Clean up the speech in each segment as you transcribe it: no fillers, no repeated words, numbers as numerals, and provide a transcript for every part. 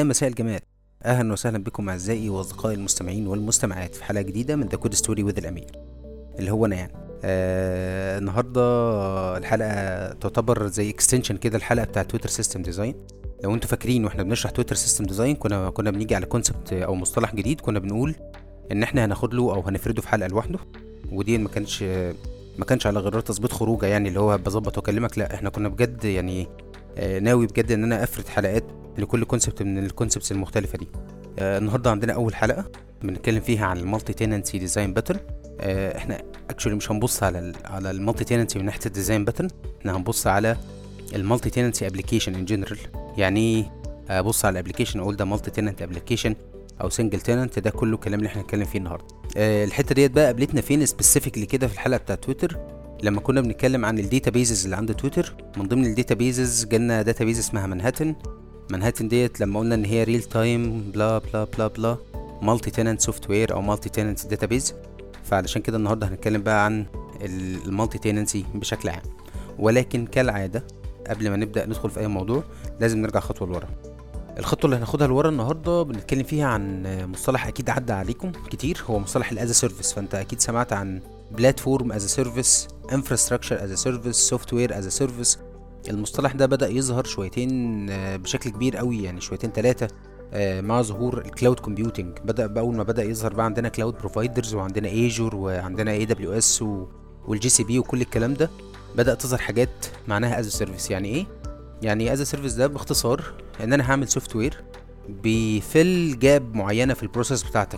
يا مساء الجمال. اهلا وسهلا بكم اعزائي واصدقائي المستمعين والمستمعات في حلقه جديده من ذا كود ستوري وذ الامير اللي هو انا يعني. النهارده الحلقه تعتبر زي اكستنشن كده الحلقه بتاعه تويتر سيستم ديزاين. لو انتوا فاكرين واحنا بنشرح تويتر سيستم ديزاين كنا بنيجي على كونسبت او مصطلح جديد، كنا بنقول ان احنا هناخد له او هنفرده في حلقه لوحده، ودي ما كانش على غرار تظبيط خروجه يعني اللي هو بظبط واكلمك، لا احنا كنا بجد يعني ناوي بجد ان انا افرد حلقات لكل كونسبت من الكونسبتس المختلفه دي. النهارده عندنا اول حلقه بنتكلم فيها عن المالتي تيننسي ديزاين باترن. احنا اكشولي مش هنبص على المالتي تيننسي من ناحيه الديزاين باترن، احنا هنبص على المالتي تيننسي ابلكيشن ان جنرال. يعني ابص على الابلكيشن اقول ده مالتي تيننت ابلكيشن او سنجل تيننت، ده كله الكلام اللي احنا هنتكلم فيه النهارده. الحته ديت بقى قابلتنا فين سبيسيفيكلي كده في الحلقه بتاعه تويتر، لما كنا بنتكلم عن الداتابيزز اللي عند تويتر. من ضمن الداتابيزز جالنا داتابيز اسمها منهاتن ديت، لما قلنا ان هي ريل تايم بلا بلا بلا بلا مالتي تيننت سوفت وير او مالتي تيننت داتابيز. فعلشان كده النهارده هنتكلم بقى عن المالتي تيننسي بشكل عام، ولكن كالعاده قبل ما نبدا ندخل في اي موضوع لازم نرجع خطوه لورا. الخطوه اللي هناخدها لورا النهارده بنتكلم فيها عن مصطلح اكيد عدى عليكم كتير، هو مصطلح الاز سيرفيس. فانت اكيد سمعت عن بلاتفورم از سيرفيس، انفراستراكشر از سيرفيس، سوفت وير از سيرفيس. المصطلح ده بدا يظهر شويتين بشكل كبير قوي، يعني شويتين ثلاثه مع ظهور الكلاود كومبيوتنج. بدا باول ما بدا يظهر بقى عندنا كلاود بروفايدرز وعندنا ايجور وعندنا اي دبليو اس والجي سي بي وكل الكلام ده، بدا تظهر حاجات معناها از سيرفيس. يعني ايه؟ يعني از سيرفيس ده باختصار ان انا هعمل سوفت وير بيفل جاب معينه في البروسيس بتاعتك.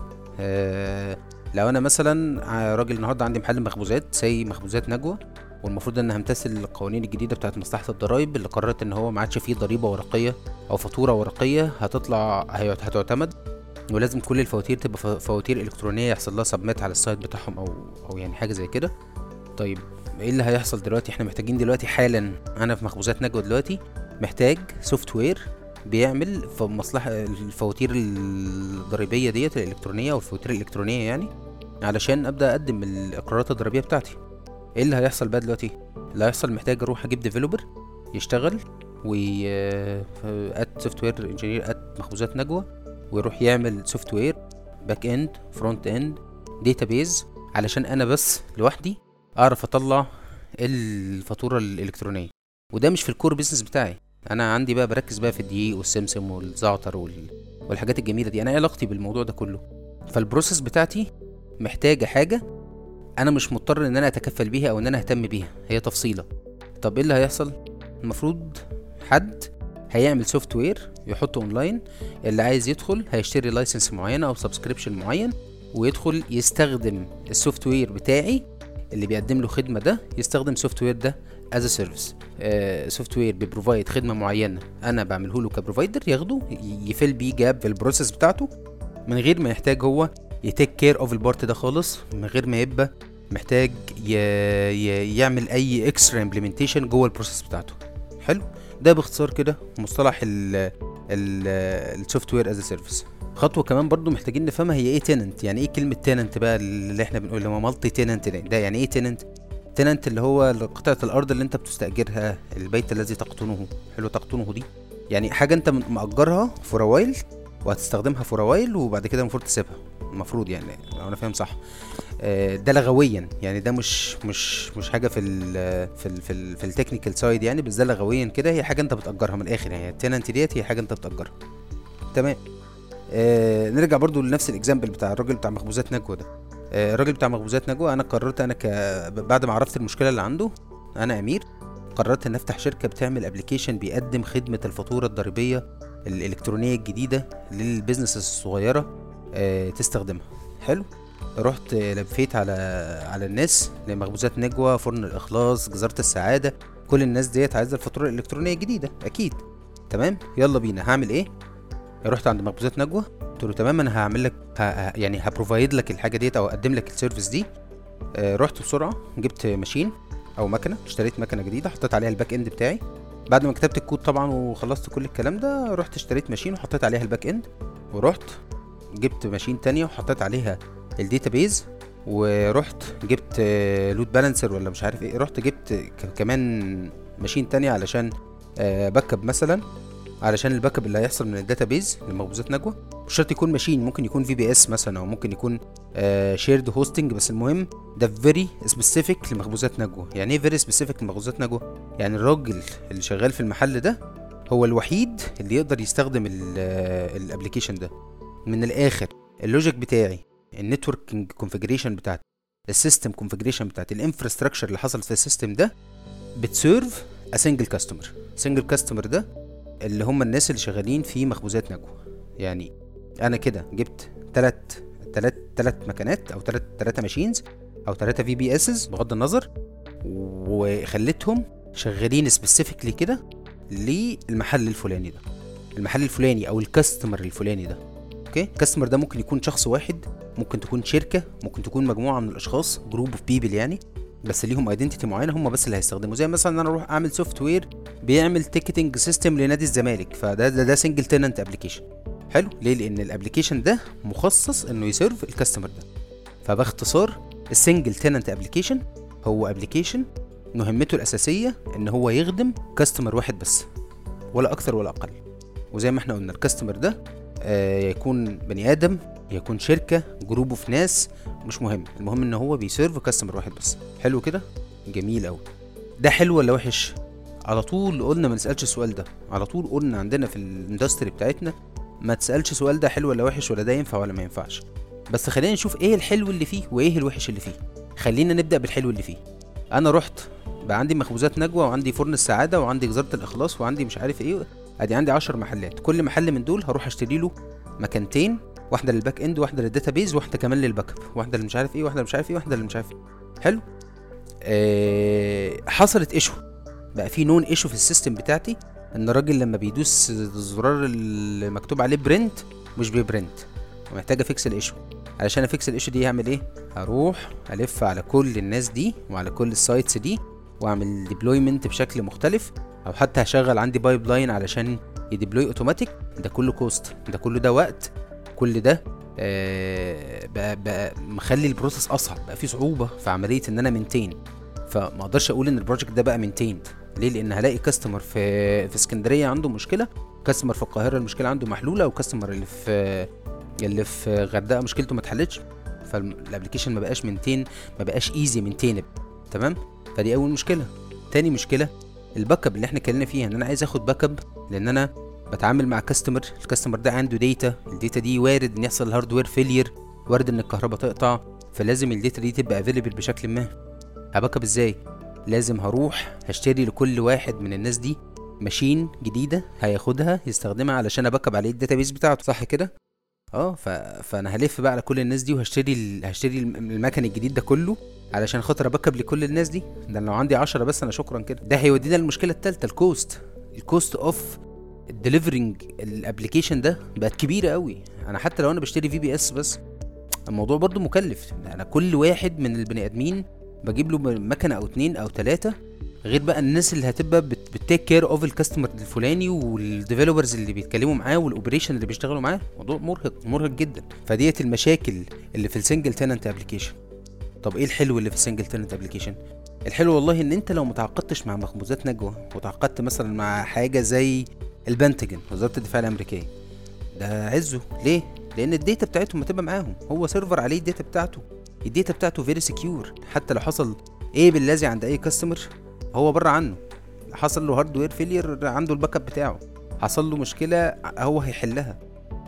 لو انا مثلا راجل النهارده عندي محل مخبوزات زي مخبوزات نجوى، والمفروض ان همتثل القوانين الجديده بتاعه مصلحه الضرايب اللي قررت ان هو ما عادش فيه ضريبه ورقيه او فاتوره ورقيه هتعتمد، ولازم كل الفواتير تبقى فواتير الكترونيه يحصل لها سبميت على السايت بتاعهم او يعني حاجه زي كده. طيب ايه اللي هيحصل دلوقتي؟ احنا محتاجين دلوقتي حالا، انا في مخبوزات نجوى دلوقتي محتاج سوفت وير بيعمل في مصلحه الفواتير الضريبيه ديت الالكترونيه او الفواتير الالكترونيه، يعني علشان ابدا اقدم الاقرارات الضريبيه بتاعتي. ايه اللي هيحصل بقى دلوقتي؟ اللي هيحصل محتاج اروح اجيب ديفلوبر يشتغل ات سوفت وير انجينير ات مخبوزات نجوى، ويروح يعمل سوفت وير باك اند فرونت اند داتابيز علشان انا بس لوحدي اعرف اطلع الفاتوره الالكترونيه. وده مش في الكور بيزنس بتاعي، انا عندي بقى بركز بقى في الدقيق والسمسم والزعتر والحاجات الجميله دي. انا ايه علاقتي بالموضوع ده كله؟ فالبروسيس بتاعتي محتاجه حاجه انا مش مضطر ان انا اتكفل بيها او ان انا اهتم بيها، هي تفصيله. طب ايه اللي هيحصل؟ المفروض حد هيعمل سوفت وير يحطه اونلاين، اللي عايز يدخل هيشتري لايسنس معينه او سبسكريبشن معين ويدخل يستخدم السوفت وير بتاعي اللي بيقدم له خدمه، ده يستخدم سوفت وير ده از سيرفيس. سوفت وير بيبروفايد خدمه معينه انا بعمله له كبروفايدر، ياخده يفل بيه جاب في البروسيس بتاعته من غير ما يحتاج هو يتيك كير اوف البارت ده خالص، من غير ما يبقى محتاج يعمل اي اكسترا امبلمنتيشن جوه البروسيس بتاعته. حلو، ده باختصار كده مصطلح السوفت وير از سيرفيس. خطوه كمان برضو محتاجين نفهمها هي ايه تيننت. يعني ايه كلمه تيننت بقى اللي احنا بنقول اللي هو مالتي تيننت ده؟ يعني ايه تيننت اللي هو قطعه الارض اللي انت بتستاجرها، البيت الذي تقطنه. حلو، تقطنه دي يعني حاجه انت مأجرها فور وايل وهتستخدمها فور وايل وبعد كده المفروض تسيبها، المفروض يعني لو انا فاهم صح. ده لغويا يعني ده مش حاجه في التكنيكال سايد يعني، بس ده لغويا كده هي حاجه انت بتأجرها من الاخر. يعني التيننت ديت هي حاجه انت بتأجرها. تمام. نرجع برضو لنفس الاكزامبل بتاع الراجل بتاع مخبوزات نجوى ده. الراجل بتاع مخبوزات نجوى، انا قررت انا بعد ما عرفت المشكله اللي عنده، انا امير قررت ان افتح شركه بتعمل ابلكيشن بيقدم خدمه الفاتوره الضريبيه الالكترونيه الجديده للبيزنس الصغيره تستخدمها. حلو، رحت لفيت على الناس لمخبوزات نجوى، فرن الاخلاص، جزاره السعاده، كل الناس ديت عايزه الفاتوره الالكترونيه الجديده اكيد. تمام، يلا بينا. هعمل ايه؟ رحت عند مخبوزات نجوى قلت له تمام انا هعمل لك يعني هبروفايد لك الحاجه ديت او اقدم لك السيرفيس دي. رحت بسرعه جبت ماشين او مكنه، اشتريت مكنه جديده حطيت عليها الباك اند بتاعي بعد ما كتبت الكود طبعا وخلصت كل الكلام ده. رحت اشتريت ماشين وحطيت عليها الباك اند، ورحت جبت ماشين تانية وحطيت عليها الداتابيز، ورحت جبت لود بالانسر ولا مش عارف ايه. رحت جبت كمان ماشين تانية علشان باك اب مثلا، علشان الباك اب اللي هيحصل من الداتابيز لمخبوزات نجوى. مش شرط يكون ماشين، ممكن يكون في بي اس مثلا، او ممكن يكون شيرد هوستنج، بس المهم ده فيري سبيسيفيك لمخبوزات نجوى. يعني ايه فيري سبيسيفيك لمخبوزات نجوى؟ يعني الراجل اللي شغال في المحل ده هو الوحيد اللي يقدر يستخدم الابلكيشن ده. من الاخر اللوجيك بتاعي، النتوركينج كونفيجريشن بتاعتي، السيستم كونفيجريشن بتاعتي، الانفراستراكشر اللي حصلت في السيستم ده بتسيرف ا سنجل كاستمر. سنجل كاستمر ده اللي هم الناس اللي شغالين في مخبوزات نجوى. يعني انا كده جبت تلات مكانات، او تلاتة ماشينز، او 3 في بي اسز بغض النظر، وخليتهم شغالين سبيسيفيكلي كده للمحل الفلاني ده، المحل الفلاني او الكاستمر الفلاني ده. اوكي، الكاستمر ده ممكن يكون شخص واحد، ممكن تكون شركه، ممكن تكون مجموعه من الاشخاص، جروب اوف بيبل يعني، بس ليهم ايدنتيتي معينه هم بس اللي هيستخدموا. زي مثلا انا اروح اعمل سوفت وير بيعمل تيكتنج سيستم لنادي الزمالك، فده سنجل تيننت ابلكيشن. حلو، ليه؟ لان الابلكيشن ده مخصص انه يسيرف الكاستمر ده. فباختصار السنجل تيننت ابلكيشن هو ابلكيشن مهمته الاساسيه ان هو يخدم كاستمر واحد بس، ولا اكتر ولا اقل. وزي ما احنا قلنا الكاستمر ده يكون بني ادم، يكون شركه، جروب اوف ناس، مش مهم، المهم ان هو بيسيرف كاستمر واحد بس. حلو كده، جميل قوي. ده حلو ولا وحش؟ على طول قلنا ما نسالش السؤال ده، على طول قلنا عندنا في الاندستري بتاعتنا ما تسالش سؤال ده حلو ولا وحش، ولا ده ينفع ولا ما ينفعش. بس خلينا نشوف ايه الحلو اللي فيه وايه الوحش اللي فيه. خلينا نبدا بالحلو اللي فيه. انا رحت بقى عندي مخبوزات نجوى، وعندي فرن السعاده، وعندي جزاره الاخلاص، وعندي مش عارف ايه، ادي عندي 10 محلات. كل محل من دول هروح اشتري له مكانتين، واحده للباك اند، واحده للداتابيز، واحده كمان للباك اب، واحده اللي مش عارف ايه، واحده مش عارف ايه، واحده اللي مش عارف ايه. حلو. حصلت ايشو، بقى في نون ايشو في السيستم بتاعتي، ان الراجل لما بيدوس الزرار اللي مكتوب عليه برنت مش بيبرنت، ومحتاج افيكس الايشو. علشان افيكس الايشو دي هعمل ايه؟ هروح الف على كل الناس دي وعلى كل السايتس دي، واعمل ديبلويمنت بشكل مختلف، او حتى هشغل عندي بايب لاين علشان يديبلوي اوتوماتيك. ده كله كوست، ده كله ده وقت، كل ده بقى مخلي البروسيس اصعب، بقى في صعوبه في عمليه ان انا منتين. فما اقدرش اقول ان البروجكت ده بقى منتيند. ليه؟ لان هلاقي كاستمر في اسكندريه عنده مشكله، كاستمر في القاهره المشكله عنده محلوله، وكاستمر اللي في غردقه مشكلته ما اتحلتش. فالابلكيشن ما بقاش منتين، ما بقاش ايزي منتين. تمام؟ فدي اول مشكله. تاني مشكله الباك اب اللي احنا اتكلمنا فيها، ان انا عايز اخد باك اب لان انا بتعامل مع الكاستمر ده عنده داتا، الداتا دي وارد ان يحصل هاردوير فيلير، وارد ان الكهرباء تقطع، فلازم الداتا دي تبقى افيلبل بشكل ما. هباك اب ازاي؟ لازم هروح هشتري لكل واحد من الناس دي ماشين جديده هياخدها يستخدمها علشان اباك اب عليه الداتابيس بتاعته، صح كده؟ فانا هلف بقى على كل الناس دي، وهشتري المكن الجديد ده كله علشان خاطر اباك اب لكل الناس دي. ده لو عندي 10 بس انا شكرا كده. ده هيودينا للمشكله الثالثه، الكوست اوف الدليفرنج الابلكيشن ده بقت كبيره قوي. انا حتى لو انا بشتري في بي اس بس الموضوع برضو مكلف. انا كل واحد من البني ادمين بجيب له مكنه او 2 أو 3، غير بقى الناس اللي هتبقى بتتيك كير اوف الكاستمر الفلاني، والديفلوبرز اللي بيتكلموا معاه، والاوبريشن اللي بيشتغلوا معاه. موضوع مرهق جدا. فديت المشاكل اللي في السنجل تيننت ابلكيشن. طب ايه الحلو اللي في السنجل تيننت ابلكيشن؟ الحلو والله ان انت لو متعاقدتش مع مخبوزات نجوى، وتعاقدت مثلا مع حاجه زي البنتاجون، وزاره الدفاع الامريكيه، ده عزه. ليه؟ لان الداتا بتاعتهم هتبقى معاهم، هو سيرفر عليه الداتا بتاعته فيري سكيور. حتى لو حصل ايه باللازم عند اي كاستمر، هو بره عنه. حصل له هاردوير فيلير، عنده الباك اب بتاعه، حصل له مشكله هو هيحلها.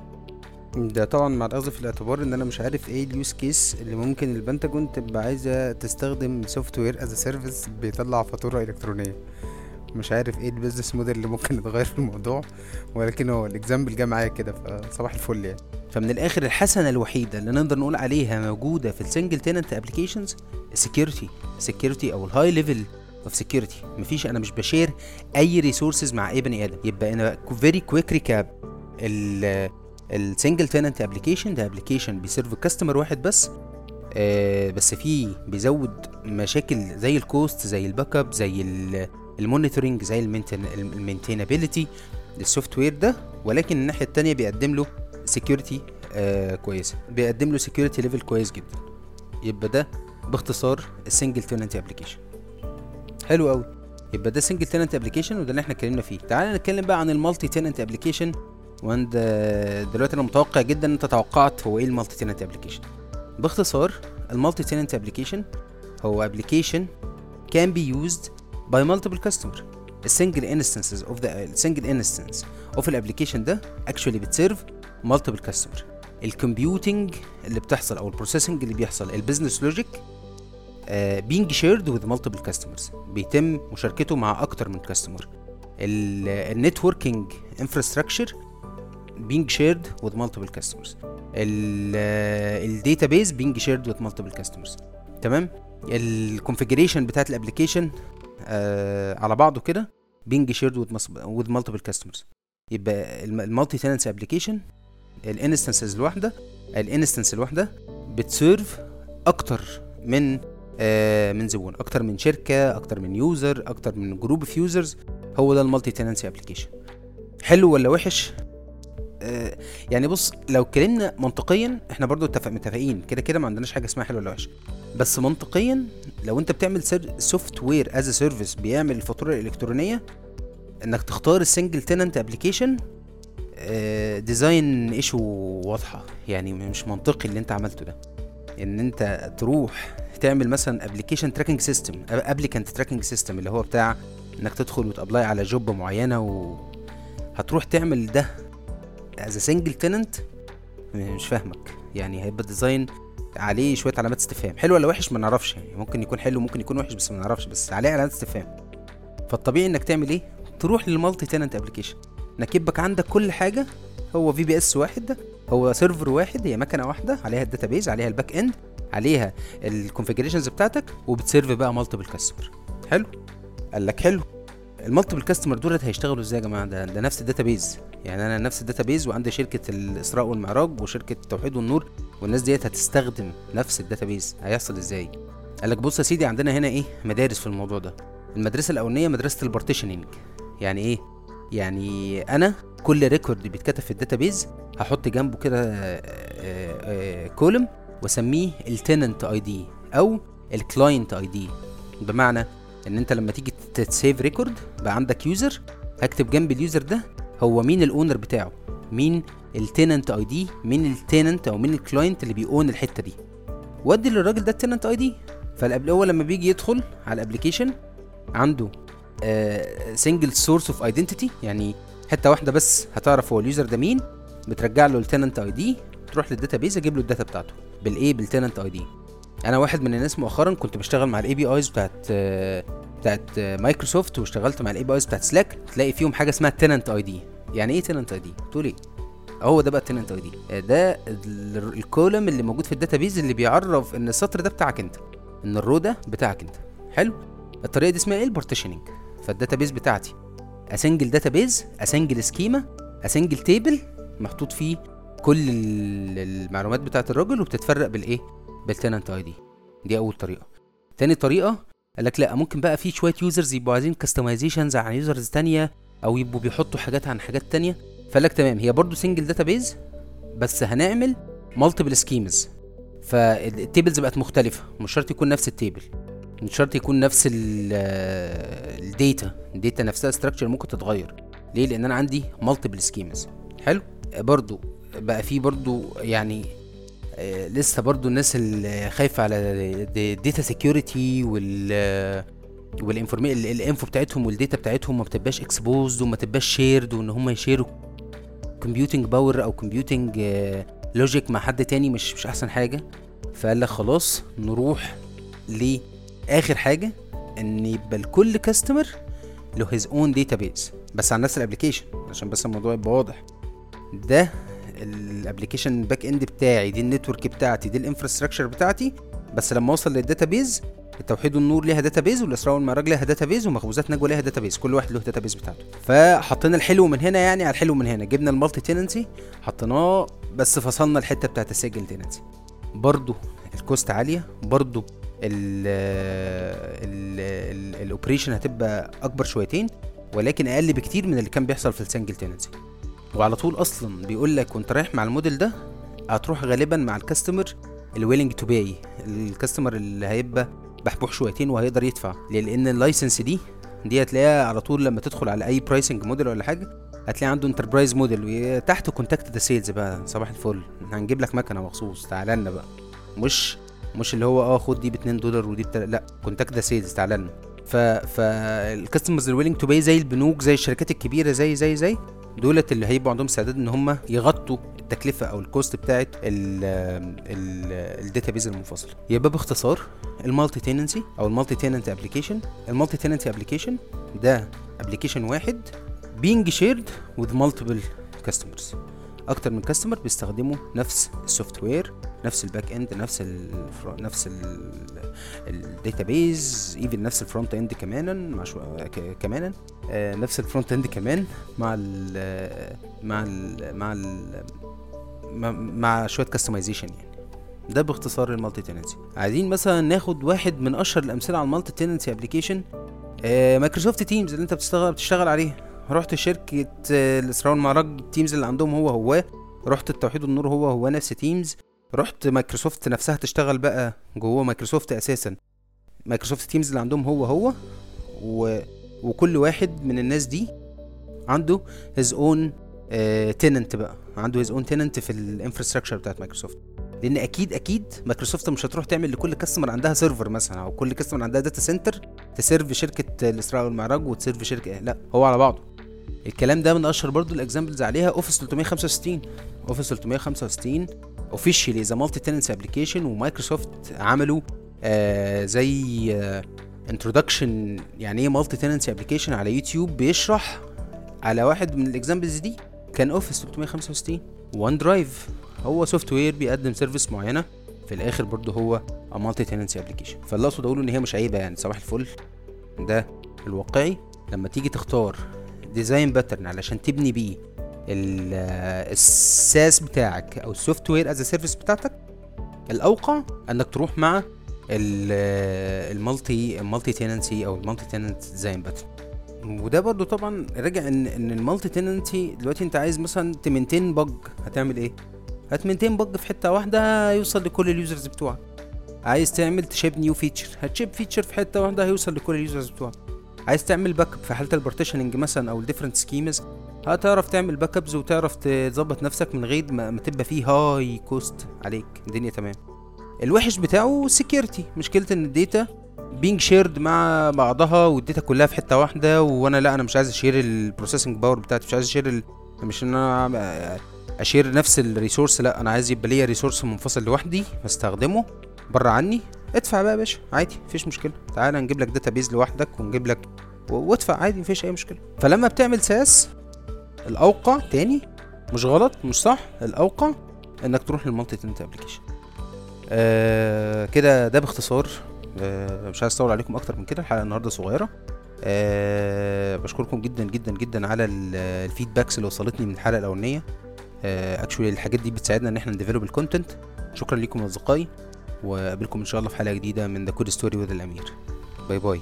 ده طبعا مع الاخذ في الاعتبار ان انا مش عارف ايه اليوز كيس اللي ممكن البنتاجون تبقى عايزه تستخدم سوفت وير از سيرفيس بيطلع فاتوره الكترونيه. مش عارف ايه البيزنس موديل اللي ممكن يتغير في الموضوع، ولكن هو الاكزامبل جه معايا كده، فصباح الفل يعني. فمن الاخر الحسنه الوحيده اللي نقدر نقول عليها موجوده في السنجل تيننت ابلكيشنز السكيورتي او الهاي ليفل اوف سكيورتي. مفيش، انا مش بشير اي ريسورسز مع اي بني ادم. يبقى انا فيري كويك ريكاب، السنجل تيننت ابلكيشن ده ابلكيشن بيسيرف كاستمر واحد بس، بس فيه بيزود مشاكل زي الكوست، زي الباك اب، زي المونيتورنج، زي المينتينابيلتي للسوفت وير ده. ولكن الناحيه التانية بيقدم له سكيورتي كويسه، بيقدم له سكيورتي ليفل كويس جدا. يبقى ده باختصار السنجل تيننت ابلكيشن. حلو قوي. يبقى ده سنجل تننت ابلكيشن، وده اللي احنا اتكلمنا فيه. تعال نتكلم بقى عن المالتي تننت ابلكيشن. وعند دلوقتي انا متوقع جدا ان انت توقعت هو ايه المالتي تننت ابلكيشن. باختصار المالتي تننت ابلكيشن هو ابلكيشن can be used by multiple customer. السنجل instances of the single instance of الابلكيشن ده actually بتسيرف multiple customer. الكمبيوتنج اللي بتحصل او البروسيسنج اللي بيحصل، البيزنس لوجيك being shared with multiple customers، بيتم مشاركته مع اكتر من كاستمر. النتوركينج انفراستراكشر being shared with multiple customers. الداتابيز being shared with multiple customers. تمام. الكونفيجريشن بتاعت الابلكيشن على بعضه كده being shared with multiple customers. يبقى المالتي تننسي ابلكيشن الانستنس الواحده بتسيرف اكتر من زبون، اكتر من شركه، اكتر من يوزر، اكتر من جروب اوف يوزرز. هو ده المالتي تننسي ابلكيشن. حلو ولا وحش؟ يعني بص، لو اتكلمنا منطقيا احنا برضو متفقين كده ما عندناش حاجه اسمها حلو ولا وحش. بس منطقيا لو انت بتعمل سوفت وير از سيرفيس بيعمل الفاتوره الالكترونيه، انك تختار السنجل تننت ابلكيشن ديزاين ايشو واضحه. يعني مش منطقي اللي انت عملته ده، ان انت تروح تعمل مثلا ابلكيشن تراكنج سيستم، ابليكانت تراكنج سيستم، اللي هو بتاع انك تدخل وتابلاي على جوب معينه، وهتروح تعمل ده از سنجل تننت. مش فاهمك. يعني هيبقى ديزاين عليه شويه علامات استفهام. حلو ولا وحش ما نعرفش، يعني ممكن يكون حلو ممكن يكون وحش بس ما نعرفش، بس عليه علامات استفهام. فالطبيعي انك تعمل ايه؟ تروح للمالتي تننت ابلكيشن، انك يبقى عندك كل حاجه هو في بي اس واحد، ده هو سيرفر واحد، هي مكنه واحده عليها الداتابيز، عليها الباك اند، عليها الكونفيجريشنز بتاعتك، وبتسيرف بقى مالتيبل كاستمر. حلو. قال لك حلو. المالتيبل كاستمر دولت هيشتغلوا ازاي يا جماعه؟ ده نفس الداتابيز. يعني انا نفس الداتابيز وعندي شركه الاسراء والمعراج وشركه التوحيد والنور، والناس ديت هتستخدم نفس الداتابيز. هيحصل ازاي؟ قال لك بص يا سيدي، عندنا هنا ايه مدارس في الموضوع ده. المدرسه الاولانيه مدرسه البارتيشننج. يعني ايه؟ يعني انا كل ريكورد بيتكتب في الداتابيز هحط جنبه كده كولم واسميه التننت اي دي او الكلاينت اي دي. بمعنى ان انت لما تيجي تسيف ريكورد بقى عندك يوزر، هكتب جنب اليوزر ده هو مين الاونر بتاعه، مين التننت اي دي، مين التننت او مين الكلاينت اللي بيقون الحته دي، وادي للراجل ده التننت اي دي. فالاول لما بيجي يدخل على الابلكيشن عنده سنجل سورس اوف ايدنتيتي، يعني حته واحده بس هتعرف هو اليوزر ده مين، بترجع له التننت اي دي، تروح للداتابيز اجيب له الداتا بتاعته بالتننت اي دي. انا واحد من الناس مؤخرا كنت بشتغل مع الاي بي ايز بتاعت مايكروسوفت، واشتغلت مع الاي بي ايز بتاعت سلاك، تلاقي فيهم حاجه اسمها تننت اي دي. يعني ايه تننت اي دي؟ تقول ايه؟ هو ده بقى التننت اي دي، ده الكولم اللي موجود في الداتابيز اللي بيعرف ان السطر ده بتاعك انت، ان الرو ده بتاعك انت. حلو. الطريقه دي اسمها ايه؟ البارتيشننج. فالداتابيز بتاعتي اسنجل داتابيز، اسنجل سكيما، اسنجل تيبل محطوط فيه كل المعلومات بتاعت الراجل، وبتتفرق بالايه؟ بالتننت اي دي. دي اول طريقه. تاني طريقه قال لك لا، ممكن بقى في شويه يوزرز يبقوا عايزين كاستمايزيشنز عن يوزرز تانية، او يبقوا بيحطوا حاجات عن حاجات تانية. فقال لك تمام، هي برضو سنجل داتابيز بس هنعمل مالتيبل سكيمز. فالتيبلز بقت مختلفه، مش شرط يكون نفس التيبل، مش شرط يكون نفس الداتا نفسها ستراكشر ممكن تتغير. ليه؟ لان انا عندي مالتيبل سكيمز. حلو. برضو بقى في برضو يعني لسه برضو الناس اللي خايفه على الداتا سيكيورتي الانفو بتاعتهم والداتا بتاعتهم ما بتبقاش اكسبوزد وما تبقاش شيرد، وان هم يشيروا كمبيوتنج باور او كمبيوتنج لوجيك مع حد تاني مش احسن حاجه. فقال لك خلاص نروح لاخر حاجه، ان يبقى لكل كاستمر له هيز اون داتابيز بس على نفس الابلكيشن، عشان بس الموضوع يبقى واضح. ده الابلكيشن باك اند بتاعي، دي النتورك بتاعتي، دي الانفراستراكشر بتاعتي. بس لما اوصل للداتابيز، التوحيد والنور ليها داتابيز، والاسراء والمعراج ليها داتابيز، ومخبوزات نجوى ليها داتابيز، كل واحد له داتابيز بتاعته. فحطينا الحلو من هنا يعني على الحلو من هنا، جبنا المالتي تننسي حطيناه، بس فصلنا الحته بتاعت السنجل تننسي. برضو الكوست عاليه، برضو الاوبريشن هتبقى اكبر شويتين، ولكن اقل بكتير من اللي كان بيحصل في السنجل تننسي. وعلى طول اصلا بيقول لك وانت رايح مع الموديل ده هتروح غالبا مع الكاستمر الويلنج تو باي، الكاستمر اللي هيبقى بحبوح شويتين وهيقدر يدفع، لان اللايسنس دي دي هتلاقيها على طول لما تدخل على اي برايسنج موديل ولا حاجه، هتلاقي عنده انتربرايز موديل تحته كونتاكت ذا سيلز بقى. صباح الفل، هنجيب لك مكنه مخصوص، تعالى لنا بقى. مش اللي هو خد دي $2 ودي لا، كونتاكت ذا سيلز، تعالى لنا. فالكاستمرز الويلنج تو باي زي البنوك، زي الشركات الكبيره، زي دولت اللي هيبقوا عندهم استعداد ان هم يغطوا التكلفه او الكوست بتاعه الداتابيز المنفصله. يبقى باختصار المالتي تيننسي او المالتي تيننت ابلكيشن. المالتي تيننت ابلكيشن ده ابلكيشن واحد being shared with multiple customers. اكتر من كاستمر بيستخدموا نفس السوفت وير، نفس الباك اند، نفس الداتابيز، ايفن نفس الفرونت اند كمان نفس الفرونت اند كمان مع شويه كاستمايزيشن. يعني ده باختصار المالتي تيننسي. عايزين مثلا ناخد واحد من اشهر الامثله على المالتي تيننسي ابلكيشن، مايكروسوفت تيمز اللي انت بتشتغل عليه. رحت شركه الاسراء والمعراج، تيمز اللي عندهم هو رحت التوحيد والنور هو نفس تيمز. رحت مايكروسوفت نفسها تشتغل بقى جوه مايكروسوفت اساسا، مايكروسوفت تيمز اللي عندهم هو وكل واحد من الناس دي عنده his own tenant بقى، عنده his own tenant في الانفراستراكشر بتاعت مايكروسوفت. لان اكيد مايكروسوفت مش هتروح تعمل لكل كاستمر عندها سيرفر مثلا، او كل كاستمر عندها داتا سنتر تسيرف شركه الاسراء والمعراج وتسيرف شركه، لا، هو على بعضه. الكلام ده من اشهر برضو الاكزامبلز عليها اوفيس 365. اوفيس 365 اوفيشلي ذا مالتي تيننسي ابلكيشن، ومايكروسوفت عملوا زي انترودكشن يعني ايه مالتي تيننسي ابلكيشن على يوتيوب، بيشرح على واحد من الاكزامبلز دي كان اوفيس 365. وان درايف هو سوفت وير بيقدم سيرفيس معينه، في الاخر برضو هو مالتي تيننسي ابلكيشن. فاللي اقصد اقوله ان هي مش عيبه يعني، صباح الفل. ده الواقعي لما تيجي تختار ديزاين باترن علشان تبني بيه الساس بتاعك او السوفت وير از سيرفيس بتاعتك، الاوقع انك تروح مع المالتي تيننسي او المالتي تيننت ديزاين باترن. وده برضو طبعا راجع ان المالتي تيننسي دلوقتي انت عايز مثلا تمنتين بج، هتعمل ايه؟ هتمنتين بج في حته واحده يوصل لكل اليوزرز بتوعك. عايز تعمل تشيب نيو فيتشر، هتشيب فيتشر في حته واحده هيوصل لكل اليوزرز بتوعك. عايز تعمل باك اب في حاله البارتيشننج مثلا او الديفرنت سكيمز، هتعرف تعمل باك ابز وتعرف تظبط نفسك من غير ما تبقى فيه هاي كوست عليك، الدنيا تمام. الوحش بتاعه سكيورتي، مشكله ان الداتا بينج شيرد مع بعضها والداتا كلها في حته واحده، وانا مش عايز اشير البروسيسنج باور بتاعتي، مش عايز اشير مش ان انا اشير نفس الريسورس، لا، انا عايز يبقى ليا ريسورس منفصل لوحدي بستخدمه بره عني. ادفع بقى يا باشا عادي، مفيش مشكله، تعالى نجيب لك داتابيز لوحدك ونجيب لك وادفع عادي، مفيش اي مشكله. فلما بتعمل ساس، الاوقع تاني، مش غلط مش صح، الاوقع انك تروح للمالتي تيننت ابلكيشن. كده ده باختصار. مش عايز اطول عليكم اكتر من كده، الحلقه النهارده صغيره. بشكركم جدا جدا جدا على الفيدباكس اللي وصلتني من الحلقه الاولانيه. اكشولي الحاجات دي بتساعدنا ان احنا نديفلوب الكونتنت. شكرا لكم اصدقائي، وقابلكم ان شاء الله في حلقه جديده من ذا كود ستوري وذ الامير. باي باي.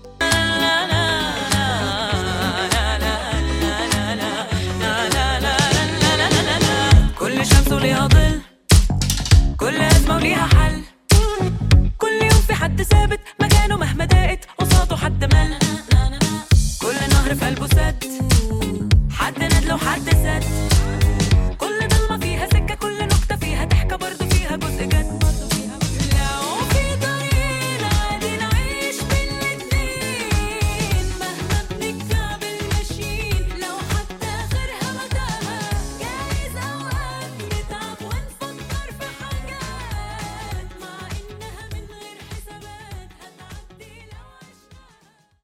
كل شمس وليها ظل، كل أزمة وليها حل، كل يوم في حد ثابت مكانه مهما ضاقت قصاده حد مل، كل نهر في قلبه سد، حد ندل وحد سد.